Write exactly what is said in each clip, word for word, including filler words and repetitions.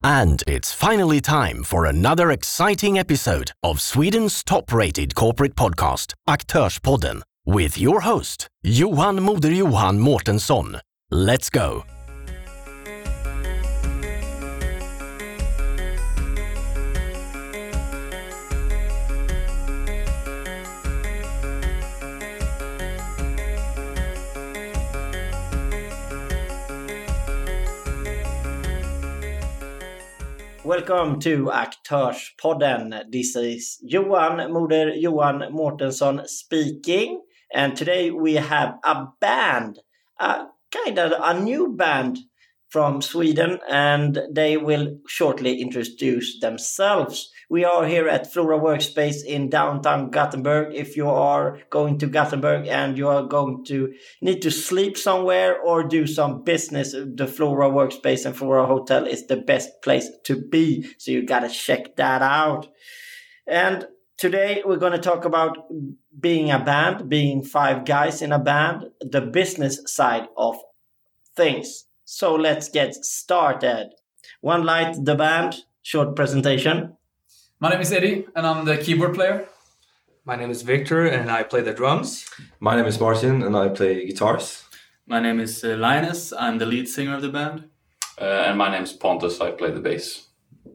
And it's finally time for another exciting episode of Sweden's top-rated corporate podcast, Aktörspodden, with your host, Johan Moder-Johan Mårtensson. Let's go! Welcome to Aktörspodden. This is Johan Moder-Johan Mårtensson speaking. And today we have a band, a kind of a new band from Sweden, and they will shortly introduce themselves. We are here at Flora Workspace in downtown Gothenburg. If you are going to Gothenburg and you are going to need to sleep somewhere or do some business, the Flora Workspace and Flora Hotel is the best place to be. So you got to check that out. And today we're going to talk about being a band, being five guys in a band, the business side of things. So let's get started. One Light, the band, short presentation. My name is Eddie, and I'm the keyboard player. My name is Victor, and I play the drums. My name is Martin, and I play guitars. My name is uh, Linus. I'm the lead singer of the band. Uh, and my name is Pontus. I play the bass.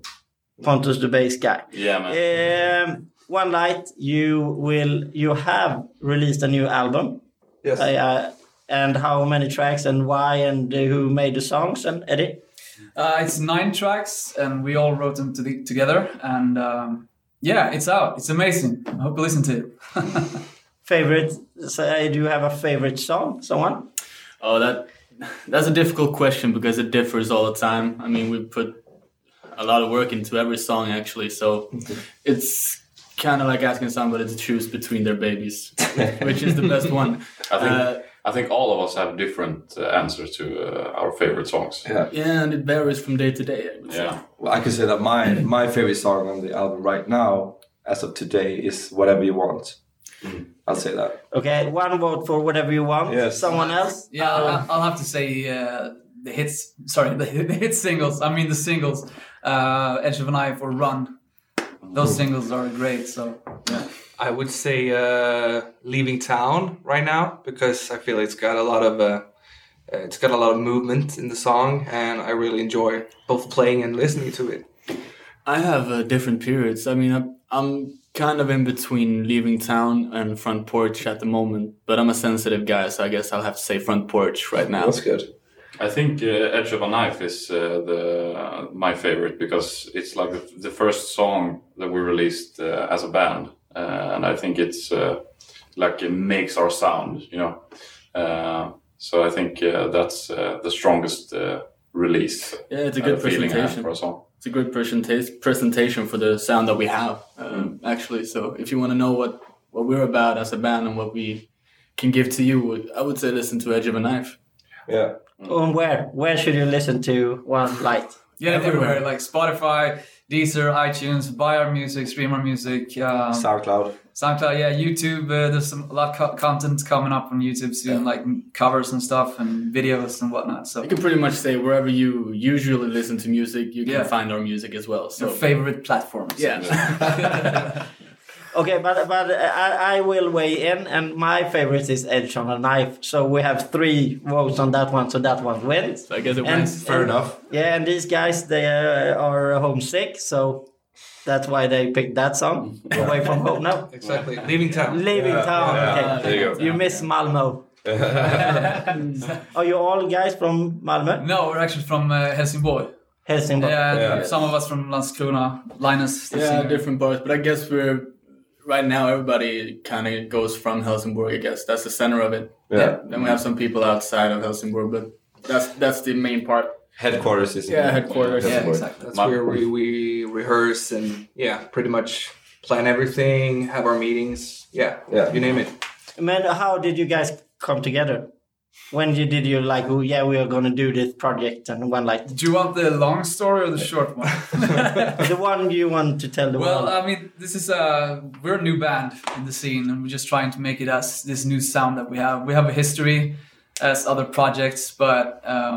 Pontus, the bass guy. Yeah, man. Um, One Light, you will you have released a new album. Yes. Uh, and how many tracks and why and uh, who made the songs? And Eddie? Uh, it's nine tracks, and we all wrote them to the, together. And um, yeah, it's out. It's amazing. I hope you listen to it. Favorite? So, do you have a favorite song? Someone? Oh, that that's a difficult question because it differs all the time. I mean, we put a lot of work into every song, actually. So it's kind of like asking somebody to choose between their babies, which is the best one. I think Uh, I think all of us have different uh, answers to uh, our favorite songs. Yeah. yeah, and it varies from day to day, I would say. Yeah. Well, I can say that my my favorite song on the album right now, as of today, is Whatever You Want. Mm. I'll say that. Okay, one vote for Whatever You Want. Yes. Someone else? Yeah, I'll, I'll have to say uh, the hits. Sorry, the, the hit singles. I mean the singles. Uh, Edge of a Knife or Run. Those singles are great. So yeah. I would say uh, Leaving Town right now because I feel it's got a lot of uh, it's got a lot of movement in the song, and I really enjoy both playing and listening to it. I have uh, different periods. I mean, I'm, I'm kind of in between Leaving Town and Front Porch at the moment, but I'm a sensitive guy, so I guess I'll have to say Front Porch right now. That's good. I think uh, Edge of a Knife is uh, the uh, my favorite because it's like the, the first song that we released uh, as a band. Uh, and I think it's uh, like it makes our sound, you know. Uh, so I think uh, that's uh, the strongest uh, release. Yeah, it's a uh, good feeling I have presentation. for a song. It's a good presenta- presentation for the sound that we have, um, Mm. actually. So if you want to know what, what we're about as a band and what we can give to you, I would say listen to Edge of a Knife. Yeah. And where? Where should you listen to One Light? Yeah, everywhere. Like Spotify, Deezer, iTunes, buy our music, stream our music. Um, SoundCloud. SoundCloud, yeah, YouTube. Uh, there's some a lot of co- content coming up on YouTube soon, like covers and stuff and videos and whatnot. So You can pretty much say wherever you usually listen to music, you can Yeah. find our music as well. So your favorite platforms. yeah. Okay, but but I, I will weigh in, and my favorite is Edge of a Knife. So we have three votes on that one, so that one wins. So I guess it And- wins. Fair and- enough. Yeah, and these guys, they uh, are homesick, so that's why they picked that song, Away From Home. No, Exactly. Leaving Town. Leaving Yeah, Town. yeah, Okay. there you go. You miss Malmö. Are you all guys from Malmö? No, we're actually from uh, Helsingborg. Helsingborg. Yeah, Yeah. some of us from Landskrona. Linus, the Yeah, singer. different parts. But I guess we're, right now, everybody kind of goes from Helsingborg, I guess. That's the center of it. Yeah. Then we have some people outside of Helsingborg, but that's that's the main part. Headquarters is in Yeah, headquarters. Yeah, Helsingborg. exactly. That's My- where we, we rehearse and yeah, pretty much plan everything, have our meetings. Yeah, Yeah. you name it. Man, how did you guys come together? When you, did you like, oh, yeah, we are going to do this project and one like, Do you want the long story or the short one? the one you want to tell the Well, world? I mean, this is a we're a new band in the scene, and we're just trying to make it as this new sound that we have. We have a history as other projects, but um,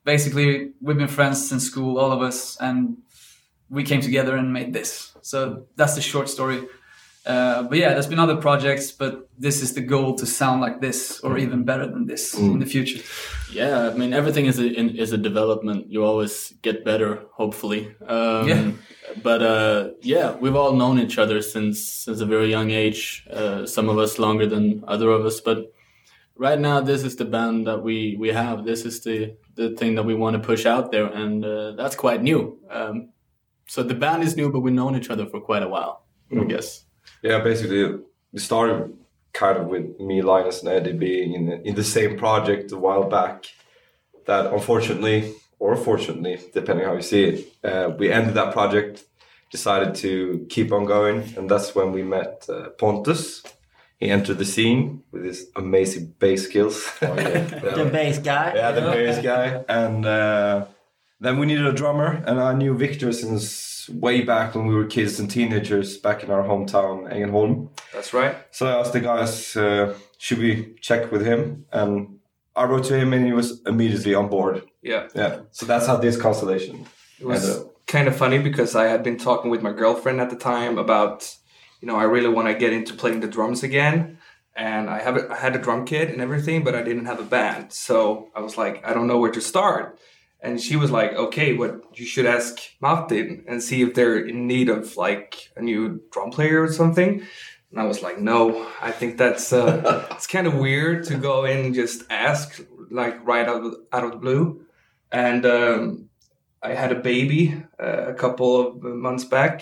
basically, we've been friends since school, all of us, and we came together and made this. So that's the short story. Uh, but yeah, there's been other projects, but this is the goal, to sound like this or even better than this mm. in the future. Yeah, I mean, everything is a, in, is a development. You always get better, hopefully. Um, yeah. But uh, yeah, we've all known each other since since a very young age. Uh, some of us longer than other of us. But right now, this is the band that we, we have. This is the, the thing that we want to push out there. And uh, that's quite new. Um, so the band is new, but we've known each other for quite a while, mm. I guess. Yeah, basically, it started kind of with me, Linus, and Eddie being in the, in the same project a while back. That unfortunately, or fortunately, depending how you see it, uh, we ended that project, decided to keep on going, and that's when we met uh, Pontus. He entered the scene with his amazing bass skills. Oh, yeah. The bass guy. Yeah, the bass guy. And uh, then we needed a drummer, and I knew Victor since way back when we were kids and teenagers back in our hometown, Ängelholm. That's right. So I asked the guys, uh, should we check with him? And I wrote to him and he was immediately on board. Yeah. Yeah. So that's how this constellation It was ended up. Kind of funny because I had been talking with my girlfriend at the time about, you know, I really want to get into playing the drums again. And I have a, I had a drum kit and everything, but I didn't have a band. So I was like, I don't know where to start. And she was like, okay, what you should ask Martin and see if they're in need of like a new drum player or something. And I was like, no, I think that's uh, it's kind of weird to go in and just ask like right out of, out of the blue. And um, I had a baby uh, a couple of months back,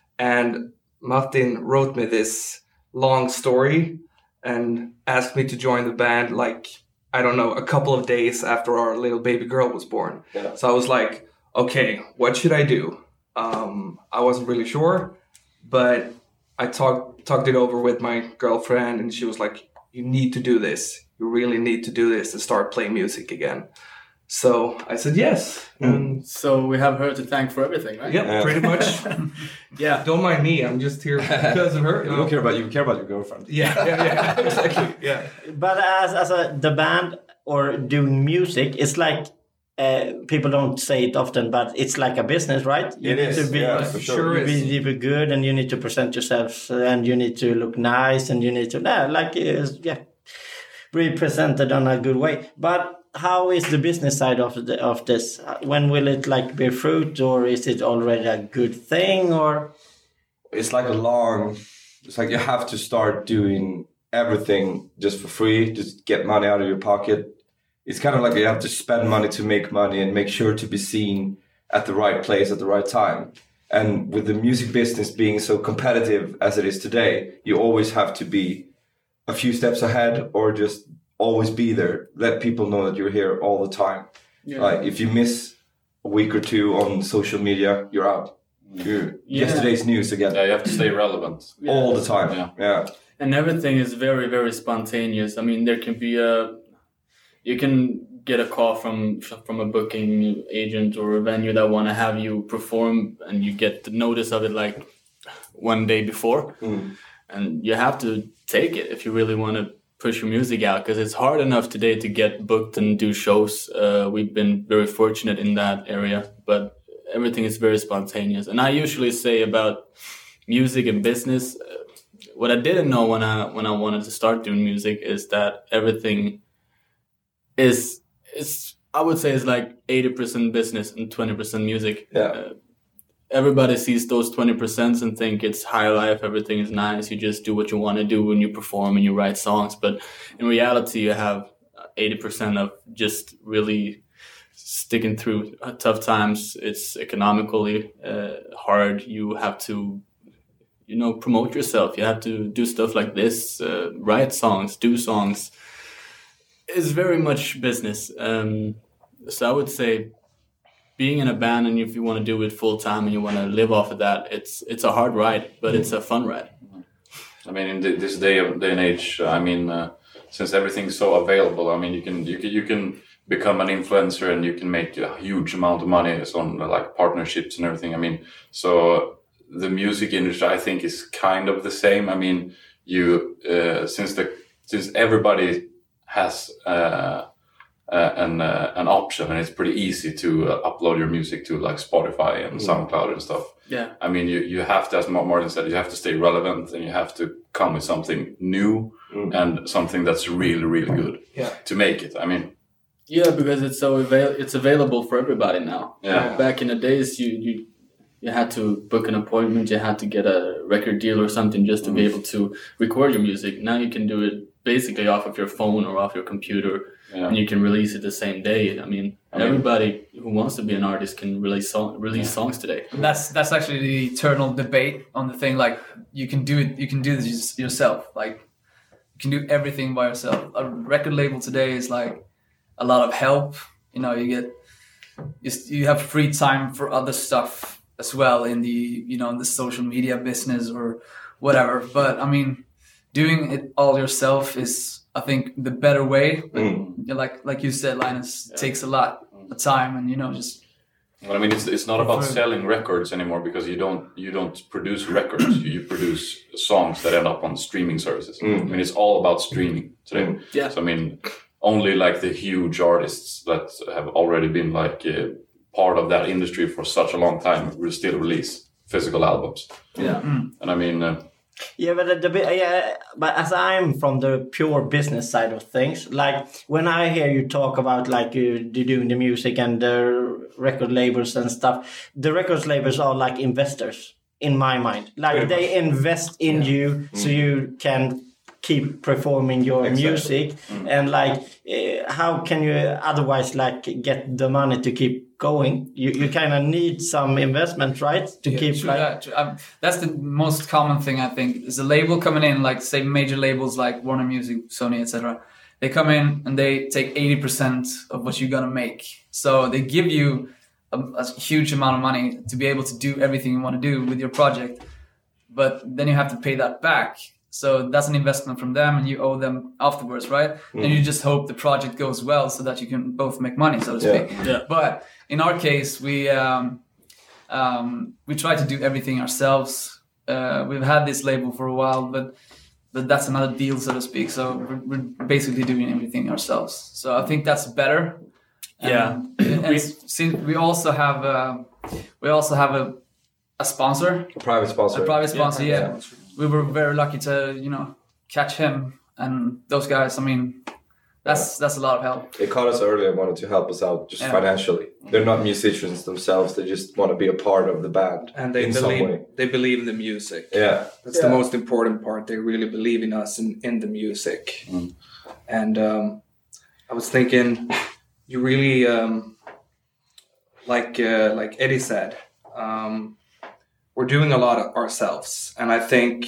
and Martin wrote me this long story and asked me to join the band like, I don't know, a couple of days after our little baby girl was born. Yeah. So I was like, okay, what should I do? Um, I wasn't really sure, but I talked talked it over with my girlfriend, and she was like, you need to do this. You really need to do this to start playing music again. So I said yes. Mm. And so we have her to thank for everything, right? Yep, yeah, pretty much. Yeah. Don't mind me. I'm just here because of her. You don't care about you. You care about your girlfriend. Yeah, yeah, yeah. Exactly. Yeah. But as as a the band or doing music, it's like uh, people don't say it often, but it's like a business, right? You it need is. to be Yeah, for sure. you need to be good, and you need to present yourself, and you need to look nice, and you need to yeah, like uh, yeah, represented on a good way. But how is the business side of the, of this? When will it like bear fruit, or is it already a good thing? Or it's like a long. It's like you have to start doing everything just for free, just get money out of your pocket. It's kind of like you have to spend money to make money and make sure to be seen at the right place at the right time. And with the music business being so competitive as it is today, you always have to be a few steps ahead or just always be there. Let people know that you're here all the time. Yeah. Like if you miss a week or two on social media, you're out. You're yeah. yesterday's news again. Yeah, you have to stay relevant. All the time. Yeah. yeah. And everything is very, very spontaneous. I mean, there can be a... You can get a call from from a booking agent or a venue that want to have you perform, and you get the notice of it like one day before. Mm. And you have to take it if you really want to push your music out, because it's hard enough today to get booked and do shows. Uh, we've been very fortunate in that area, but everything is very spontaneous. And I usually say about music and business, uh, what I didn't know when I when I wanted to start doing music is that everything is is I would say is like eighty percent business and twenty percent music. Yeah. Uh, everybody sees those twenty percent and think it's high life, everything is nice, you just do what you want to do when you perform and you write songs. But in reality, you have eighty percent of just really sticking through tough times. It's economically uh, hard. You have to, you know, promote yourself. You have to do stuff like this, uh, write songs, do songs. It's very much business. Um, so I would say being in a band, and if you want to do it full time and you want to live off of that, it's it's a hard ride, but it's a fun ride. I mean, in the, this day of day and age, I mean, uh, since everything's so available, I mean, you can you can you can become an influencer and you can make a huge amount of money on like partnerships and everything. I mean, so the music industry, I think, is kind of the same. I mean, you uh, since the since everybody has uh, uh, an uh, an option, and it's pretty easy to uh, upload your music to like Spotify and mm. SoundCloud and stuff. Yeah, I mean, you you have to, as Martin said, you have to stay relevant, and you have to come with something new mm. and something that's really really good yeah. to make it. I mean. Yeah, because it's so avail- it's available for everybody now. Yeah. Back in the days, you you you had to book an appointment, you had to get a record deal or something just to mm. be able to record your music. Now you can do it basically off of your phone or off your computer, yeah. and you can release it the same day. I mean, I everybody mean, who wants to be an artist can release song, release yeah. songs today. That's that's actually the eternal debate on the thing. Like you can do it, you can do this yourself. Like you can do everything by yourself. A record label today is like a lot of help. You know, you get you, you have free time for other stuff as well in the you know in the social media business or whatever. But I mean, doing it all yourself is, I think, the better way. But mm. like like you said, Linus, yeah. takes a lot of time, and you know just. Well, I mean, it's it's not about selling records anymore, because you don't you don't produce records. you, you produce songs that end up on streaming services. Mm. I mean, it's all about streaming today. Mm. Yeah. So I mean, only like the huge artists that have already been like uh, part of that industry for such a long time will still release physical albums. Yeah. Mm. And I mean. Uh, Yeah, but the, the yeah, but as I'm from the pure business side of things, like when I hear you talk about like you, you doing the music and the record labels and stuff, the record labels are like investors in my mind. Like they invest in yeah. you mm. so you can keep performing your exactly. music, mm. and like uh, how can you otherwise like get the money to keep going? You you kind of need some investment, right, to yeah, keep true, like that, true. Um, that's the most common thing, I think, is a label coming in, like say major labels like Warner Music, Sony, et cetera. They come in and they take eighty percent of what you're gonna make, so they give you a, a huge amount of money to be able to do everything you want to do with your project, but then you have to pay that back. So that's an investment from them, and you owe them afterwards, right? Mm. And you just hope the project goes well so that you can both make money, so to speak. Yeah. Yeah. But in our case, we um, um, we try to do everything ourselves. Uh, we've had this label for a while, but but that's another deal, so to speak. So we're, we're basically doing everything ourselves. So I think that's better. Yeah. And, and since we also have uh, we also have a a sponsor, a private sponsor, a private sponsor, yeah. yeah. We were very lucky to, you know, catch him and those guys. I mean, that's yeah. that's a lot of help. They called us earlier and wanted to help us out just yeah. financially. They're not musicians themselves. They just want to be a part of the band. And they in believe some way. they believe in the music. Yeah. That's yeah. the most important part. They really believe in us and in the music. Mm. And um, I was thinking, you really, um, like uh, like Eddie said, um, we're doing a lot of ourselves. And I think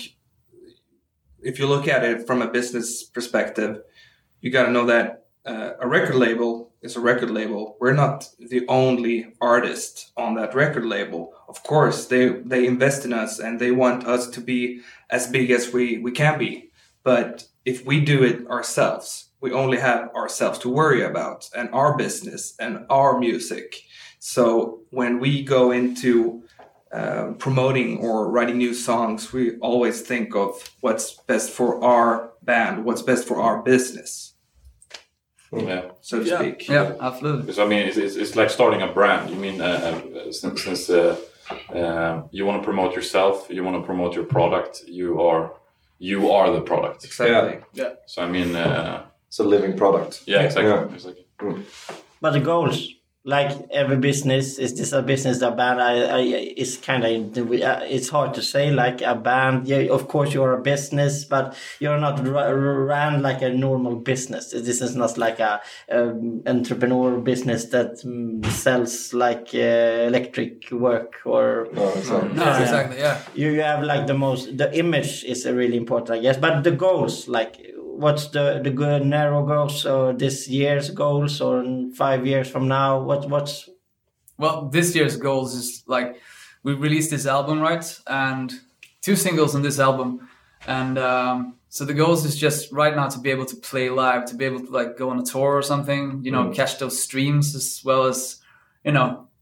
if you look at it from a business perspective, you got to know that uh, a record label is a record label. We're not the only artist on that record label. Of course, they, they invest in us and they want us to be as big as we, we can be. But if we do it ourselves, we only have ourselves to worry about and our business and our music. So when we go into Uh, promoting or writing new songs, we always think of what's best for our band, what's best for our business. Yeah, so to yeah. speak. Yeah, absolutely. Because I mean, it's, it's, it's like starting a brand. You mean uh, since, since uh, uh, you want to promote yourself, you want to promote your product, you are you are the product. Exactly. Yeah. yeah. So I mean, uh, it's a living product. Yeah, exactly. Yeah. exactly. Mm. But the goals, like every business, is this a business, a band? I, I it's kind of it's hard to say. Like a band, yeah, of course you're a business, but you're not ran like a normal business. This is not like a um, entrepreneur business that um, sells like uh, electric work or. No, exactly. No, yeah. exactly. Yeah. You you have like the most. The image is really important, I guess, but the goals, like. What's the the good narrow goals, or this year's goals, or in five years from now? What what's well, this year's goals is like we released this album, right, and two singles on this album, and um, so the goals is just right now to be able to play live, to be able to like go on a tour or something, you know, mm. catch those streams as well as, you know,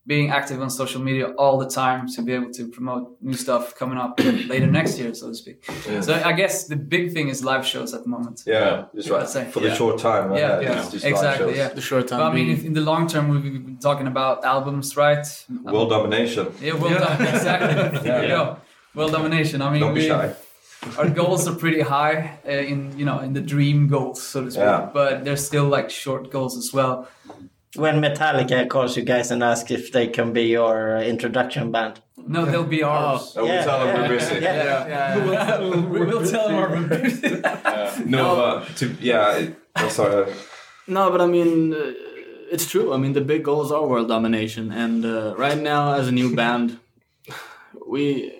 being active on social media all the time to be able to promote new stuff coming up later next year, so to speak. Yeah. So I guess the big thing is live shows at the moment. Yeah, that's right. For the yeah. short time. Yeah, yeah, yeah. Just exactly. Yeah, the short time. But I mean, in the long term, we've been talking about albums, right? World um, domination. Yeah, world yeah. domination. Exactly. There you go. World domination. I mean, don't be we, shy. Our goals are pretty high uh, in you know in the dream goals, so to speak. Yeah. But there's still like short goals as well. When Metallica calls you guys and asks if they can be your introduction band. No, they'll be ours. Oh, yeah, we'll tell them yeah, we're busy. Yeah, yeah, yeah. yeah. We'll, we'll, we'll tell them we're busy. uh, no, but to, yeah, I'm sorry. No, but I mean, uh, it's true. I mean, the big goals are world domination. And uh, right now, as a new band, we...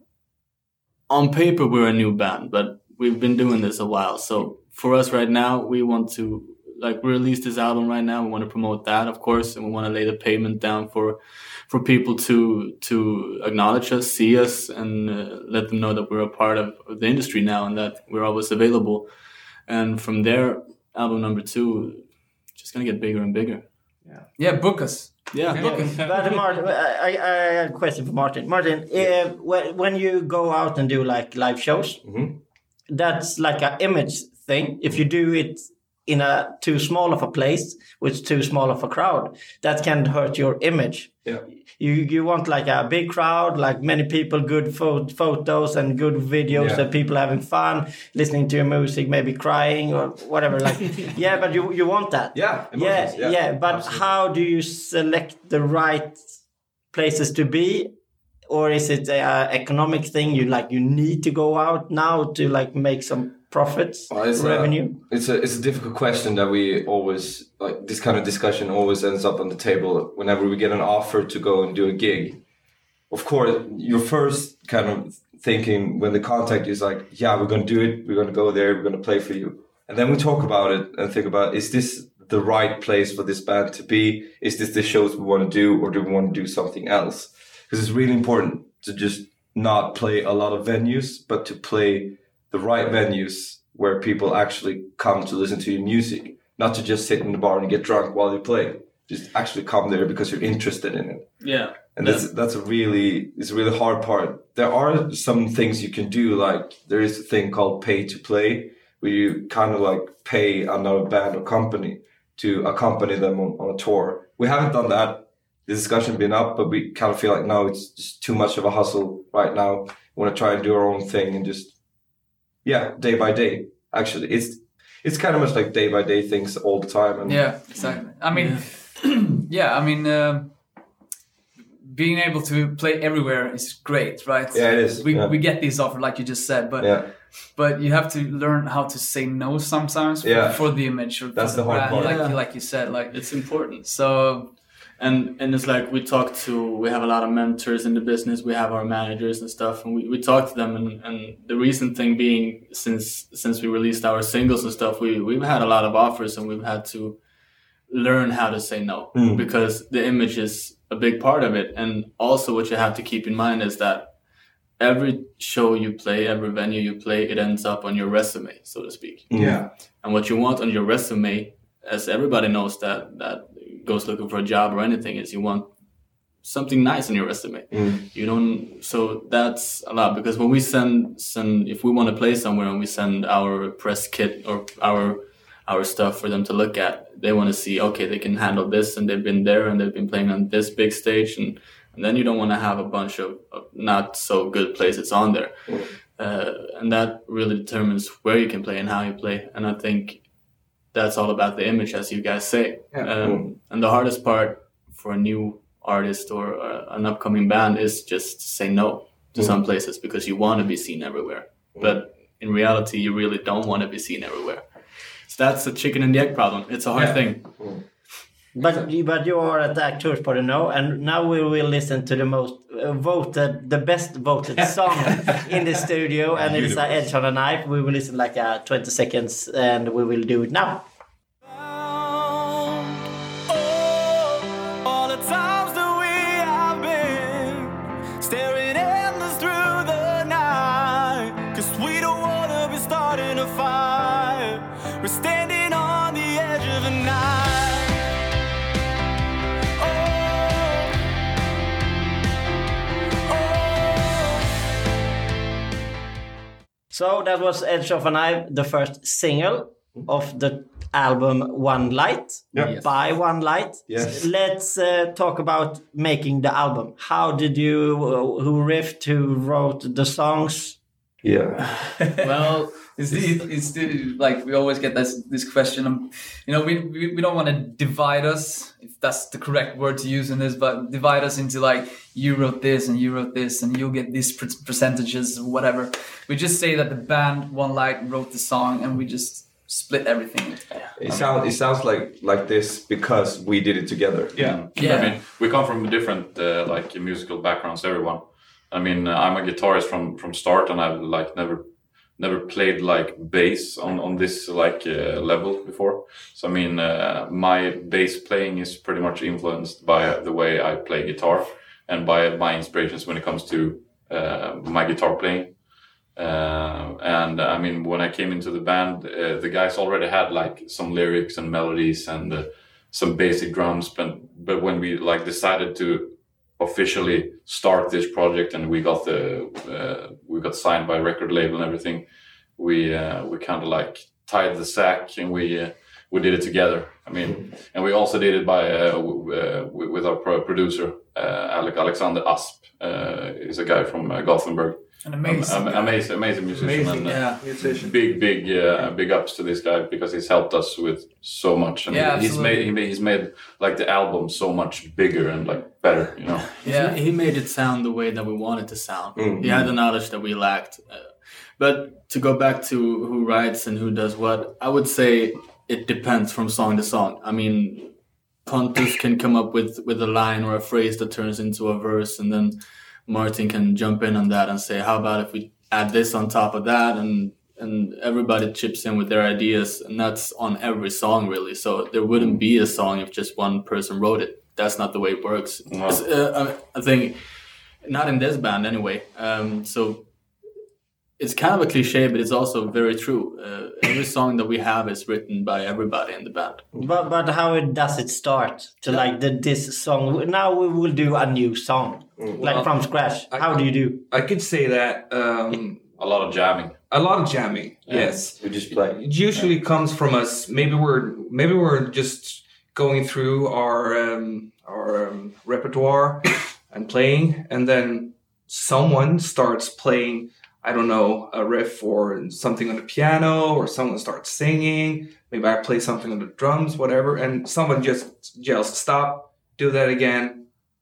On paper, we're a new band, but we've been doing this a while. So for us right now, we want to... Like, we released this album right now. We want to promote that, of course, and we want to lay the pavement down for for people to to acknowledge us, see us, and uh, let them know that we're a part of, of the industry now and that we're always available. And from there, album number two, just gonna get bigger and bigger. Yeah, yeah, book us. Yeah, yeah. Book us. But Martin, I, I have a question for Martin. Martin, uh, when you go out and do like live shows, mm-hmm. that's like an image thing. If you do it in a too small of a place with too small of a crowd, that can hurt your image. Yeah. You you want like a big crowd, like many people, good fo- photos and good videos, yeah. and people having fun, listening to your music, maybe crying or whatever. Like, yeah, but you you want that. Yeah. Yeah, yeah, yeah. But absolutely. How do you select the right places to be? Or is it a economic thing? You like you need to go out now to like make some profits, well, it's revenue? A, it's a it's a difficult question that we always like. This kind of discussion always ends up on the table whenever we get an offer to go and do a gig. Of course, your first kind of thinking when the contact is like, yeah, we're going to do it. We're going to go there. We're going to play for you. And then we talk about it and think about, is this the right place for this band to be? Is this the shows we want to do, or do we want to do something else? Because it's really important to just not play a lot of venues, but to play the right venues where people actually come to listen to your music, not to just sit in the bar and get drunk while you play. Just actually come there because you're interested in it. Yeah. And that's yeah. that's a really it's a really hard part. There are some things you can do, like there is a thing called pay to play, where you kind of like pay another band or company to accompany them on, on a tour. We haven't done that. The discussion been up, but we kind of feel like no, it's just too much of a hustle right now. We want to try and do our own thing and just yeah, day by day. Actually, it's it's kind of much like day by day things all the time. And yeah, exactly. I mean, yeah, yeah I mean, uh, being able to play everywhere is great, right? Yeah, it is. We yeah. we get these offers, like you just said, but yeah. but you have to learn how to say no sometimes for, yeah. for the image. Or That's for the, the hard brand, part. Like, yeah. like you said, like it's important. So. And and it's like we talk to, we have a lot of mentors in the business, we have our managers and stuff, and we, we talk to them. And, and the recent thing being, since since we released our singles and stuff, we, we've had a lot of offers and we've had to learn how to say no, mm. because the image is a big part of it. And also what you have to keep in mind is that every show you play, every venue you play, it ends up on your resume, so to speak. Yeah. And what you want on your resume, as everybody knows that that goes looking for a job or anything, is you want something nice on your resume. Mm. You don't, so that's a lot, because when we send send if we want to play somewhere and we send our press kit or our our stuff for them to look at, they want to see, okay, they can handle this and they've been there and they've been playing on this big stage, and, and then you don't want to have a bunch of, of not so good places on there. Mm. Uh, and that really determines where you can play and how you play. And I think that's all about the image, as you guys say. Yeah, um, cool. And the hardest part for a new artist or uh, an upcoming band is just to say no to mm. some places, because you want to be seen everywhere. Mm. But in reality, you really don't want to be seen everywhere. So that's a chicken and the egg problem. It's a hard yeah. thing. Mm. But but you are at the Aktörspodden now, and now we will listen to the most uh, voted, the best voted song in the studio, and it's uh, Edge on a Knife. We will listen like uh, twenty seconds, and we will do it now. So that was Edge of a Knife, the first single of the album One Light, Yeah. by One Light. Yes. Let's uh, talk about making the album. How did you, uh, who riffed, who wrote the songs? Yeah. Well, it's, it's, it's like we always get this this question. Um, you know, we, we we don't want to divide us, if that's the correct word to use in this, but divide us into like you wrote this and you wrote this and you'll get these per- percentages or whatever. We just say that the band One Light wrote the song and we just split everything. It sounds it sounds like like this because we did it together. Yeah. Yeah. I mean, we come from different uh, like musical backgrounds. Everyone. I mean, uh, I'm a guitarist from from start, and I've like never never played like bass on on this like uh, level before. So I mean, uh, my bass playing is pretty much influenced by the way I play guitar and by my inspirations when it comes to uh, my guitar playing. Uh, and uh, I mean, when I came into the band, uh, the guys already had like some lyrics and melodies and uh, some basic drums. But but when we like decided to officially start this project and we got the uh, we got signed by a record label and everything, we uh, we kind of like tied the sack and we uh, we did it together. I mean, and we also did it by uh, w- uh, with our pro- producer uh, Alec Alexander Asp. Uh, is a guy from uh, Gothenburg. An amazing, um, um, amazing, amazing musician. Amazing, and, uh, yeah. Musician. Big, big, uh, big ups to this guy because he's helped us with so much, and Yeah, he's absolutely. made he made, he's made like the album so much bigger and like better, you know. Yeah. He, he made it sound the way that we wanted to sound. Mhm. He had the knowledge that we lacked. Uh, but to go back to who writes and who does what, I would say it depends from song to song. I mean, Pontus can come up with, with a line or a phrase that turns into a verse, and then Martin can jump in on that and say, how about if we add this on top of that? And and everybody chips in with their ideas, and that's on every song really. So there wouldn't be a song if just one person wrote it. That's not the way it works. No. It's, uh, I think not in this band anyway. Um, so it's kind of a cliche, but it's also very true. Uh, every song that we have is written by everybody in the band. But but how does it start? To like the this song. Now we will do a new song, like from scratch. How do you do? I could say that um, A lot of jamming. a lot of jamming. Yes. We just play. It usually comes from us. Maybe we're maybe we're just going through our um, our um, repertoire and playing, and then someone starts playing. I don't know, a riff or something on the piano, or someone starts singing. Maybe I play something on the drums, whatever, and someone just yells, "Stop! Do that again!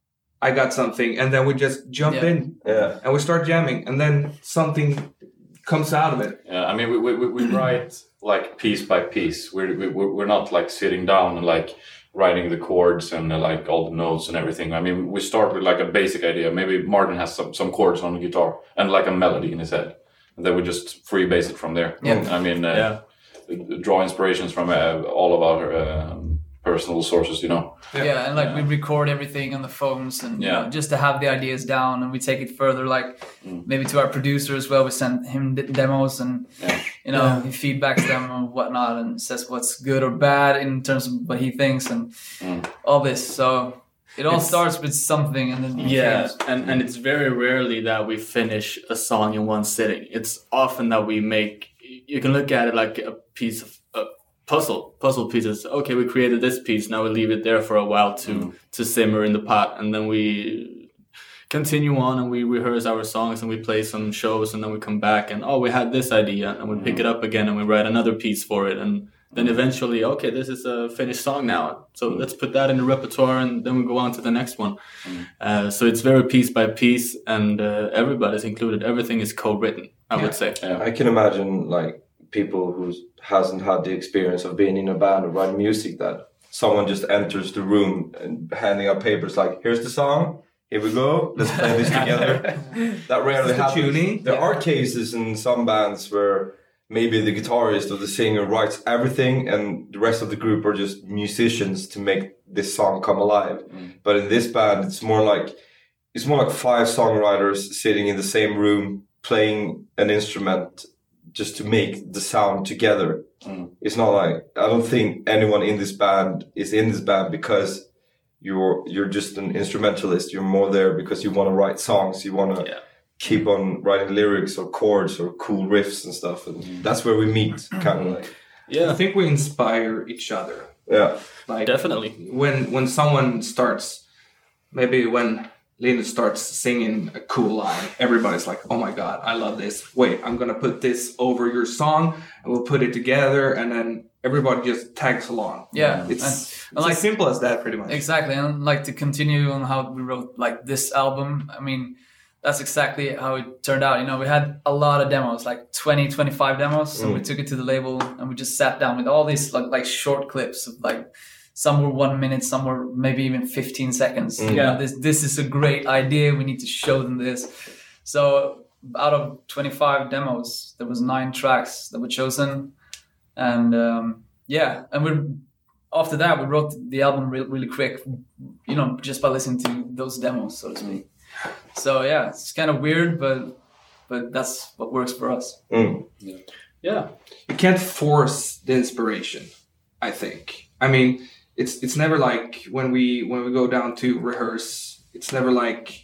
I got something!" And then we just jump Yeah. in Yeah. and we start jamming, and then something comes out of it. Yeah, I mean, we we, we write like piece by piece. We're we, we're we're not like sitting down and like writing the chords and uh, like all the notes and everything. I mean, we start with like a basic idea. Maybe Martin has some, some chords on the guitar and like a melody in his head, and then we just freebase it from there. Yeah. I mean, uh, Yeah. draw inspirations from uh, all of our um, personal sources, you know. Yeah, and like we record everything on the phones, and you Yeah. know, just to have the ideas down, and we take it further. Like Mm. maybe to our producer as well. We send him d- demos, and Yeah. you know Yeah. he feedbacks them and whatnot, and says what's good or bad in terms of what he thinks, and Mm. all this. So it all It's- starts with something, and then it Yeah, changes. and, and it's very rarely that we finish a song in one sitting. It's often that we make, you can look at it like a piece of a puzzle, puzzle pieces. Okay, we created this piece, now we leave it there for a while to, Mm. to simmer in the pot, and then we continue on and we rehearse our songs and we play some shows, and then we come back and, oh, we had this idea, and we pick it up again and we write another piece for it, and then eventually, okay, this is a finished song now, so let's put that in the repertoire, and then we go on to the next one. Uh, so it's very piece by piece, and uh, everybody's included. Everything is co-written, I would say. I can imagine like people who hasn't had the experience of being in a band or writing music, that someone just enters the room and handing out papers like, here's the song, here we go, let's play this together. That rarely the happens. tuning. There are cases in some bands where maybe the guitarist or the singer writes everything and the rest of the group are just musicians to make this song come alive. Mm. But in this band, it's more like it's more like five songwriters sitting in the same room playing an instrument just to make the sound together. Mm. It's not like, I don't think anyone in this band is in this band because you're you're just an instrumentalist. You're more there because you want to write songs. You want to Yeah. keep on writing lyrics or chords or cool riffs and stuff. And that's where we meet, kind of like. Yeah, I think we inspire each other. Yeah, like definitely. When when someone starts, maybe when Linus starts singing a cool line, everybody's like, "Oh my god, I love this! Wait, I'm gonna put this over your song, and we'll put it together." And then everybody just tags along. Yeah, it's, and, it's and like, as simple as that, pretty much. Exactly, and like to continue on how we wrote like this album. I mean, that's exactly how it turned out. You know, we had a lot of demos, like twenty, twenty-five demos. So mm. we took it to the label and we just sat down with all these like, like short clips of like, some were one minute, some were maybe even fifteen seconds. Mm. You know, this, this is a great idea. We need to show them this. So out of twenty-five demos, there was nine tracks that were chosen. And um, yeah, and we after that, we wrote the album really, really quick, you know, just by listening to those demos, so to speak. So yeah, it's kind of weird, but but that's what works for us. Mm. Yeah. yeah, you can't force the inspiration. I think. I mean, it's it's never like when we when we go down to rehearse. It's never like,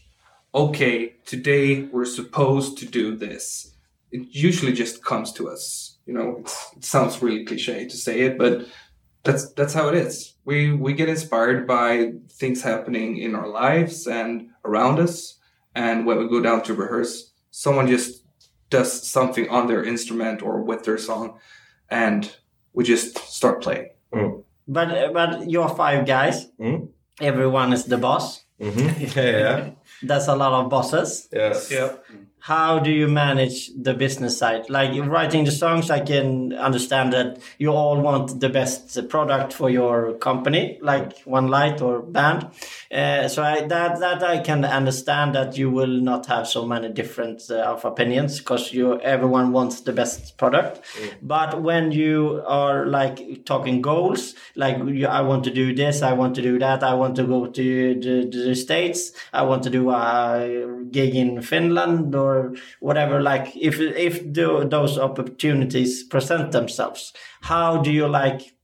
okay, today we're supposed to do this. It usually just comes to us. You know, it's, it sounds really cliche to say it, but that's that's how it is. We we get inspired by things happening in our lives and around us, and when we go down to rehearse, someone just does something on their instrument or with their song, and we just start playing. Mm. But but you're five guys. Mm. Everyone is the boss. Mm-hmm. Yeah, yeah. That's a lot of bosses. Yes. Yeah. How do you manage the business side? Like writing the songs, I can understand that you all want the best product for your company, like One Light or band. Uh, so I, that that I can understand that you will not have so many different uh, of opinions because you everyone wants the best product. Mm. But when you are like talking goals, like you, I want to do this, I want to do that, I want to go to the, the States, I want to do a gig in Finland or whatever, like if if the, those opportunities present themselves, how do you like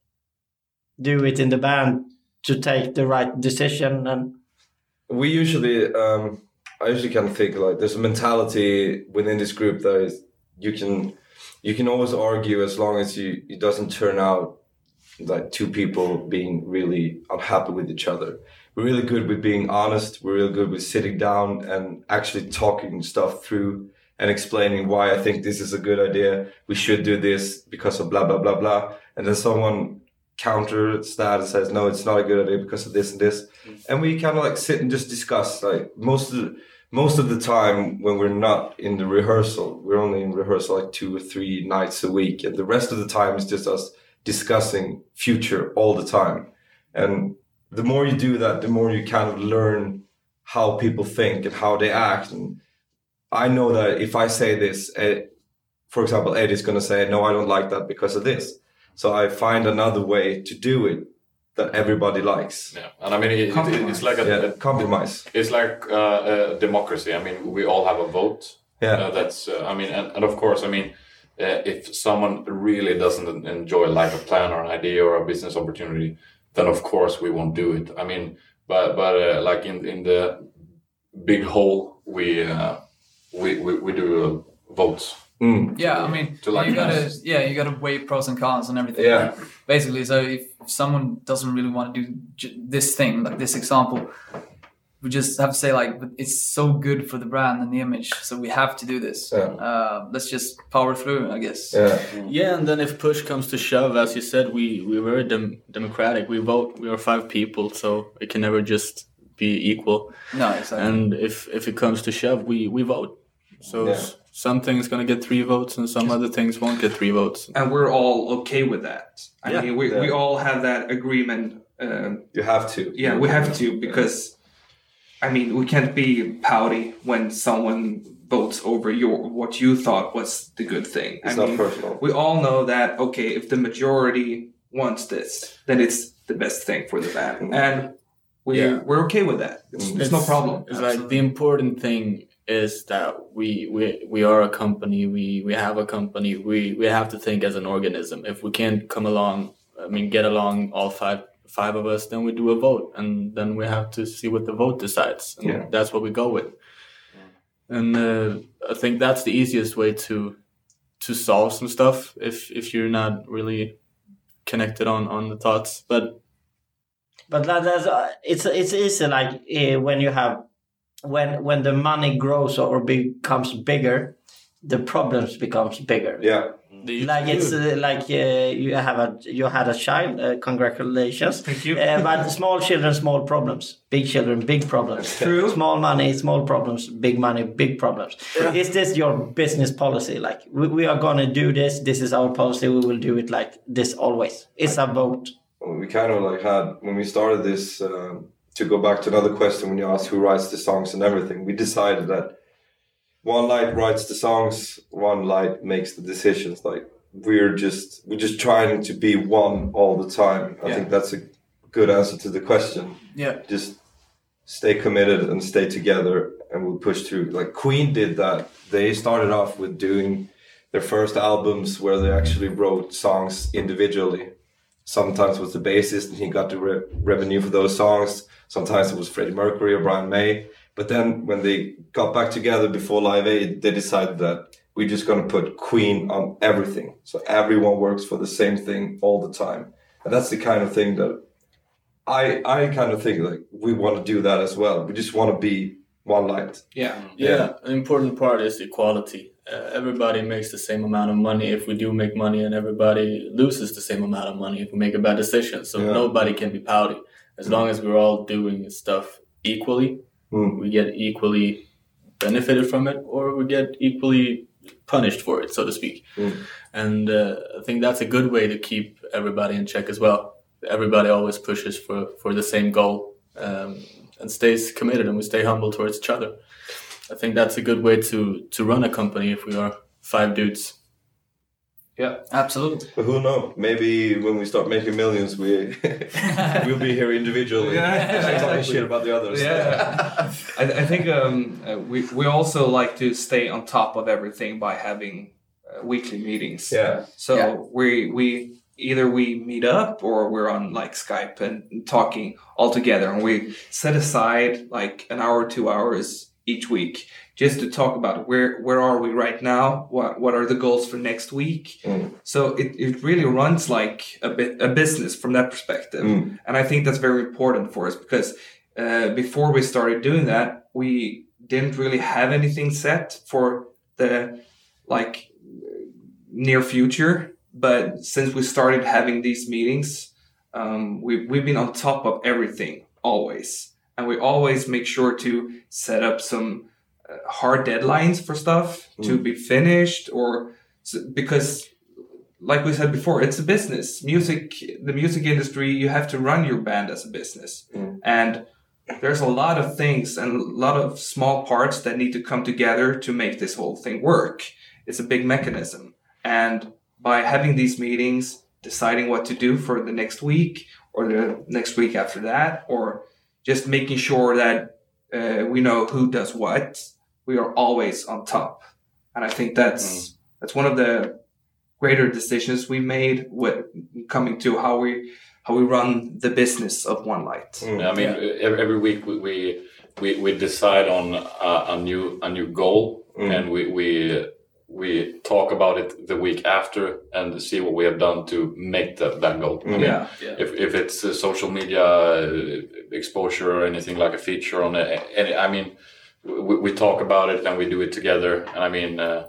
do it in the band to take the right decision? And we usually um I usually kind of think like there's a mentality within this group that is you can you can always argue as long as you it doesn't turn out like two people being really unhappy with each other. We're really good with being honest. We're really good with sitting down and actually talking stuff through and explaining why I think this is a good idea. We should do this because of blah, blah, blah, blah. And then someone counters that and says, no, it's not a good idea because of this and this. Mm. And we kind of like sit and just discuss. Like most of the, most of the time when we're not in the rehearsal, we're only in rehearsal like two or three nights a week. And the rest of the time is just us discussing future all the time. And the more you do that, the more you kind of learn how people think and how they act. And I know that if I say this, Ed, for example, Eddie's going to say, no, I don't like that because of this. So I find another way to do it that everybody likes. Yeah, and I mean, it, it, it's like a, yeah, a compromise. It's like uh, a democracy. I mean, we all have a vote. Yeah, uh, that's. Uh, I mean, and, and of course, I mean, uh, if someone really doesn't enjoy like a plan or an idea or a business opportunity, then of course we won't do it. I mean, but but uh, like in in the big whole, we uh, we, we we do uh, votes. Mm. Yeah, I mean, to like you gotta us. yeah, you gotta weigh pros and cons and everything. Yeah, basically. So if someone doesn't really want to do j- this thing, like this example, we just have to say like, it's so good for the brand and the image, so we have to do this. Yeah. Uh, let's just power through, I guess. Yeah. Yeah, and then if push comes to shove, as you said, we we were dem- democratic. We vote. We are five people, so it can never just be equal. No, exactly. And if if it comes to shove, we we vote. So Yeah. s- some things gonna get three votes, and some other things won't get three votes. And we're all okay with that. I Yeah. mean, we, Yeah. we all have that agreement. Um, You have to. yeah, we have to because, I mean, we can't be pouty when someone votes over your what you thought was the good thing. It's I not mean, personal. we all know that, okay, if the majority wants this, then it's the best thing for the band. Mm-hmm. And we, Yeah. we're okay with that. It's, it's no problem. It's like the important thing is that we we we are a company. We we have a company. We we have to think as an organism. If we can't come along, I mean, get along all five five of us, then we do a vote, and then we have to see what the vote decides. And Yeah. that's what we go with. and uh, I think that's the easiest way to to solve some stuff if if you're not really connected on on the thoughts. But but that, that's uh, it's it's easy like uh, when you have when when the money grows or becomes bigger, the problems becomes bigger. Yeah. Like it's uh, like uh, you have a you had a child. Uh, congratulations. Thank you. Uh, but small children, small problems. Big children, big problems. True. Small money, small problems. Big money, big problems. Yeah. Is this your business policy? Like we, we are gonna do this. This is our policy. We will do it like this always. It's a vote. We kind of like had when we started this. Um, to go back to another question, when you asked who writes the songs and everything, we decided that one light writes the songs, one light makes the decisions. Like we're just we're just trying to be one all the time. I Yeah. think that's a good answer to the question. Yeah. Just stay committed and stay together, and we'll push through. Like Queen did that. They started off with doing their first albums where they actually wrote songs individually. Sometimes it was the bassist and he got the re- revenue for those songs. Sometimes it was Freddie Mercury or Brian May. But then when they got back together before Live Aid, they decided that we're just going to put Queen on everything. So everyone works for the same thing all the time. And that's the kind of thing that I I kind of think like we want to do that as well. We just want to be one light. Yeah. Yeah, Yeah. an important part is equality. Uh, everybody makes the same amount of money if we do make money, and everybody loses the same amount of money if we make a bad decision. So Yeah. nobody can be pouty. As long as we're all doing stuff equally, Mm. we get equally benefited from it, or we get equally punished for it, so to speak. Mm. And uh, I think that's a good way to keep everybody in check as well. Everybody always pushes for, for the same goal um, and stays committed, and we stay humble towards each other. I think that's a good way to, to run a company if we are five dudes. Yeah, absolutely. But who knows? Maybe when we start making millions, we we'll be here individually. Yeah, talking shit about the others. Yeah, I, I think um, uh, we we also like to stay on top of everything by having uh, weekly meetings. Yeah. So Yeah. we we either we meet up or we're on like Skype and talking all together, and we set aside like an hour, two hours each week just to talk about where where are we right now, what what are the goals for next week. Mm. So it, it really runs like a bit a business from that perspective. Mm. And I think that's very important for us because uh, before we started doing that, we didn't really have anything set for the like near future. But since we started having these meetings, um, we, we've been on top of everything always. And we always make sure to set up some uh, hard deadlines for stuff mm. to be finished, or because like we said before, it's a business. Music, the music industry, you have to run your band as a business. Mm. And there's a lot of things and a lot of small parts that need to come together to make this whole thing work. It's a big mechanism. And by having these meetings, deciding what to do for the next week or the next week after that, or just making sure that uh, we know who does what, we are always on top. And I think that's mm. that's one of the greater decisions we made with coming to how we how we run the business of One Light. Mm. I mean, yeah. every, every week we we, we, we decide on a, a new a new goal, mm. and we we we talk about it the week after and see what we have done to make that, that goal. Mm. I mean, yeah. yeah. If if it's a social media exposure or anything like a feature on it, any, I mean, we, we talk about it and we do it together. And I mean, uh,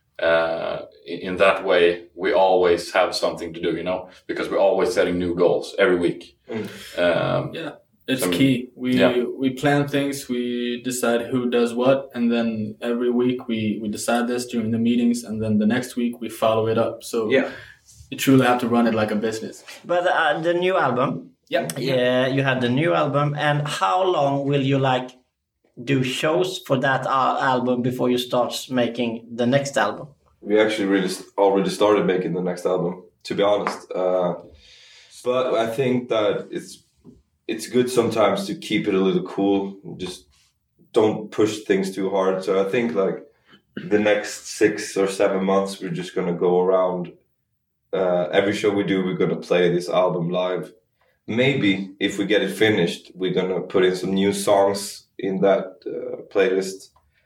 uh, in that way, we always have something to do, you know, because we're always setting new goals every week. Mm. Um, yeah. It's I mean, key. We yeah. we plan things, we decide who does what, and then every week we, we decide this during the meetings, and then the next week we follow it up. So yeah. you truly have to run it like a business. But uh, the new album, yeah, yeah, you had the new album, and how long will you like do shows for that uh, album before you start making the next album? We actually really st- already started making the next album, to be honest. Uh, but I think that it's it's good sometimes to keep it a little cool. Just don't push things too hard. So I think like the next six or seven months, we're just going to go around. Uh, every show we do, we're going to play this album live. Maybe if we get it finished, we're going to put in some new songs in that uh, playlist.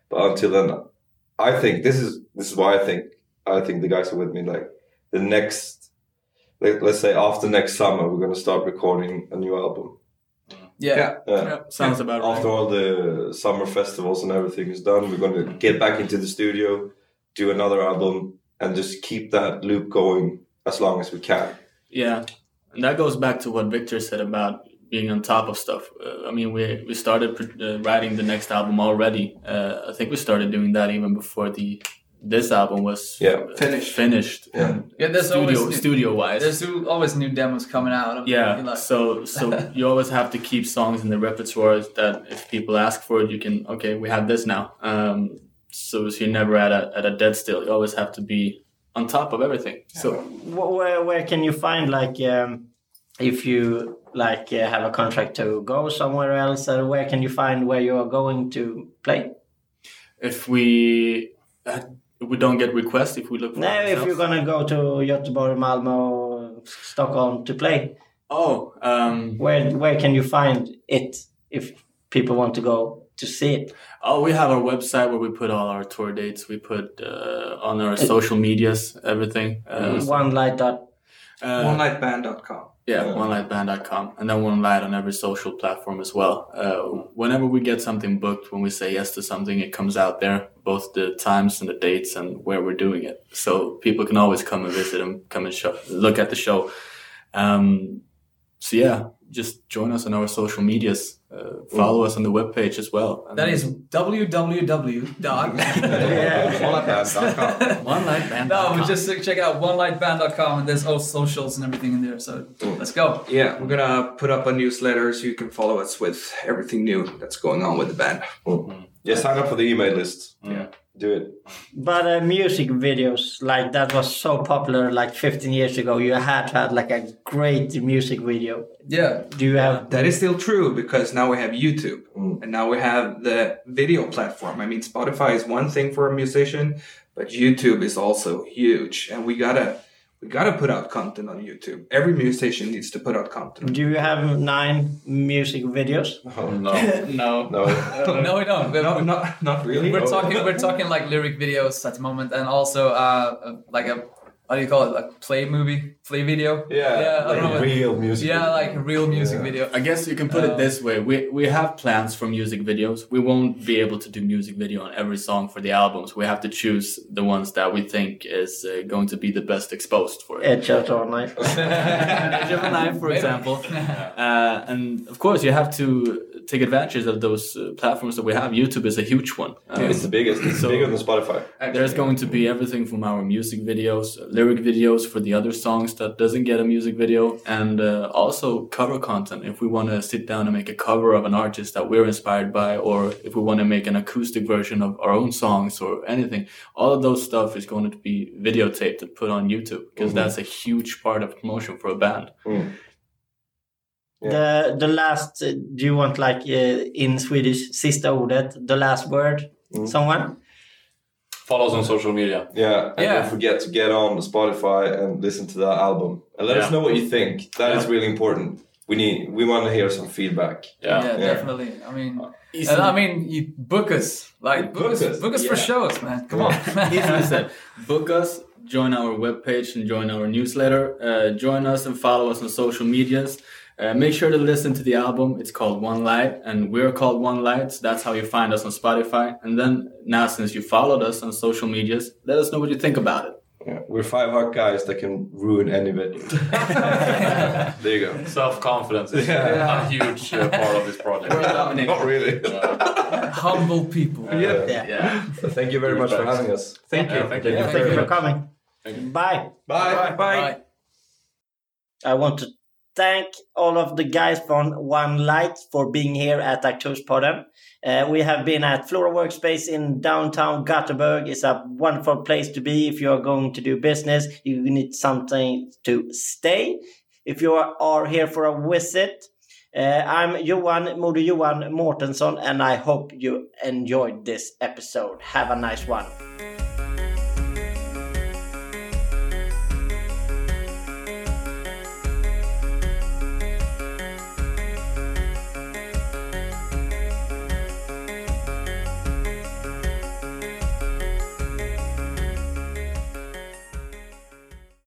But until then, I think this is this is why I think I think the guys are with me. Like the next, like, let's say after next summer, we're gonna start recording a new album. Yeah, Yeah. Yeah. Yeah, sounds about right. After all the summer festivals and everything is done, we're gonna get back into the studio, do another album, and just keep that loop going as long as we can. Yeah, and that goes back to what Victor said about being on top of stuff. Uh, I mean, we we started uh, writing the next album already. Uh, I think we started doing that even before the this album was Yeah. uh, Finished. Finished. Yeah. Yeah, there's Studio always new, studio wise. there's always new demos coming out. I mean, Yeah, you like- so so you always have to keep songs in the repertoire that if people ask for it, you can, okay, we have this now. Um, so, so you're never at a at a dead still. You always have to be on top of everything. So Wh- Where where can you find like um, if you like uh, have a contract to go somewhere else? Or where can you find where you are going to play? if we uh, if we don't get requests, if we look for No, if ourselves- you're gonna go to Göteborg, Malmö, Stockholm to play, oh um, where where can you find it if people want to go to see it? oh we have our website where we put all our tour dates. We put uh, on our social medias everything. Uh, so, One light dot. uh, one light band dot com. Yeah, one light band dot com. And then One Light on every social platform as well. Uh, whenever we get something booked, when we say yes to something, it comes out there, both the times and the dates and where we're doing it. So people can always come and visit and come and show, look at the show. Um, so yeah, just join us on our social medias. Uh, follow us on the webpage as well. And That is www dot. Yeah. one light band dot com. one light band. No, but just check out one light band dot com and there's all socials and everything in there. So let's go. Yeah, we're gonna put up a newsletter so you can follow us with everything new that's going on with the band. Yeah, sign up for the email list. Yeah. Do it. But uh, music videos, like that was so popular like fifteen years ago. You had to have like a great music video. Yeah. Do you have? That is still true because now we have YouTube and now we have the video platform. I mean, Spotify is one thing for a musician, but YouTube is also huge, and we gotta we gotta put out content on YouTube. Every musician needs to put out content. Do you have nine music videos? Oh, No. no. no. No, we don't. We're, No, not not really. we're talking. We're talking like lyric videos at the moment, and also uh, like a what do you call it? Like play movie, play video. Yeah, yeah, I like don't know. real music. Yeah, like a real music Yeah. video. I guess you can put Um, it this way. We we have plans for music videos. We won't be able to do music video on every song for the albums. We have to choose the ones that we think is uh, going to be the best exposed for it. Edge out all night. Edge of a Knife, for example. Uh, and of course, you have to take advantage of those uh, platforms that we have. YouTube is a huge one. Um, It's the biggest. It's So- bigger than Spotify. There's going to be everything from our music videos, lyric videos for the other songs that doesn't get a music video, and uh, also cover content. If we want to sit down and make a cover of an artist that we're inspired by, or if we want to make an acoustic version of our own songs or anything, all of those stuff is going to be videotaped and put on YouTube because that's a huge part of promotion for a band. Yeah. The the last. Uh, do you want like uh, in Swedish sista ordet? The last word. Someone. Follow us on social media. Yeah, and Yeah. don't forget to get on Spotify and listen to that album and let us Yeah. know what you think. That is Yeah. really important. We need, we want to hear some feedback. Yeah. Yeah, Yeah. definitely. I mean, Easily- and I mean, you book us, like book, Book us, us, book us for yeah. shows, man. Come on. Easily said. Book us, join our webpage and join our newsletter. Uh, join us and follow us on social medias. Uh, make sure to listen to the album. It's called One Light, and we're called One Light. So that's how you find us on Spotify. And then now, since you followed us on social medias, let us know what you think about it. Yeah. We're five hot guys that can ruin any video. There you go. Self-confidence is a huge uh, part of this project. Not really. Humble people. Yeah. Yeah. So thank you very much for having us. Thank you. Yeah, thank you. Yeah, thank you for coming. Bye. Bye. Bye. I want to thank all of the guys from One Light for being here at Aktörspodden. Uh, we have been at Flora Workspace in downtown Gothenburg. It's a wonderful place to be if you are going to do business. You need something to stay. If you are, are here for a visit, uh, I'm Johan Moder Johan Mårtensson, and I hope you enjoyed this episode. Have a nice one.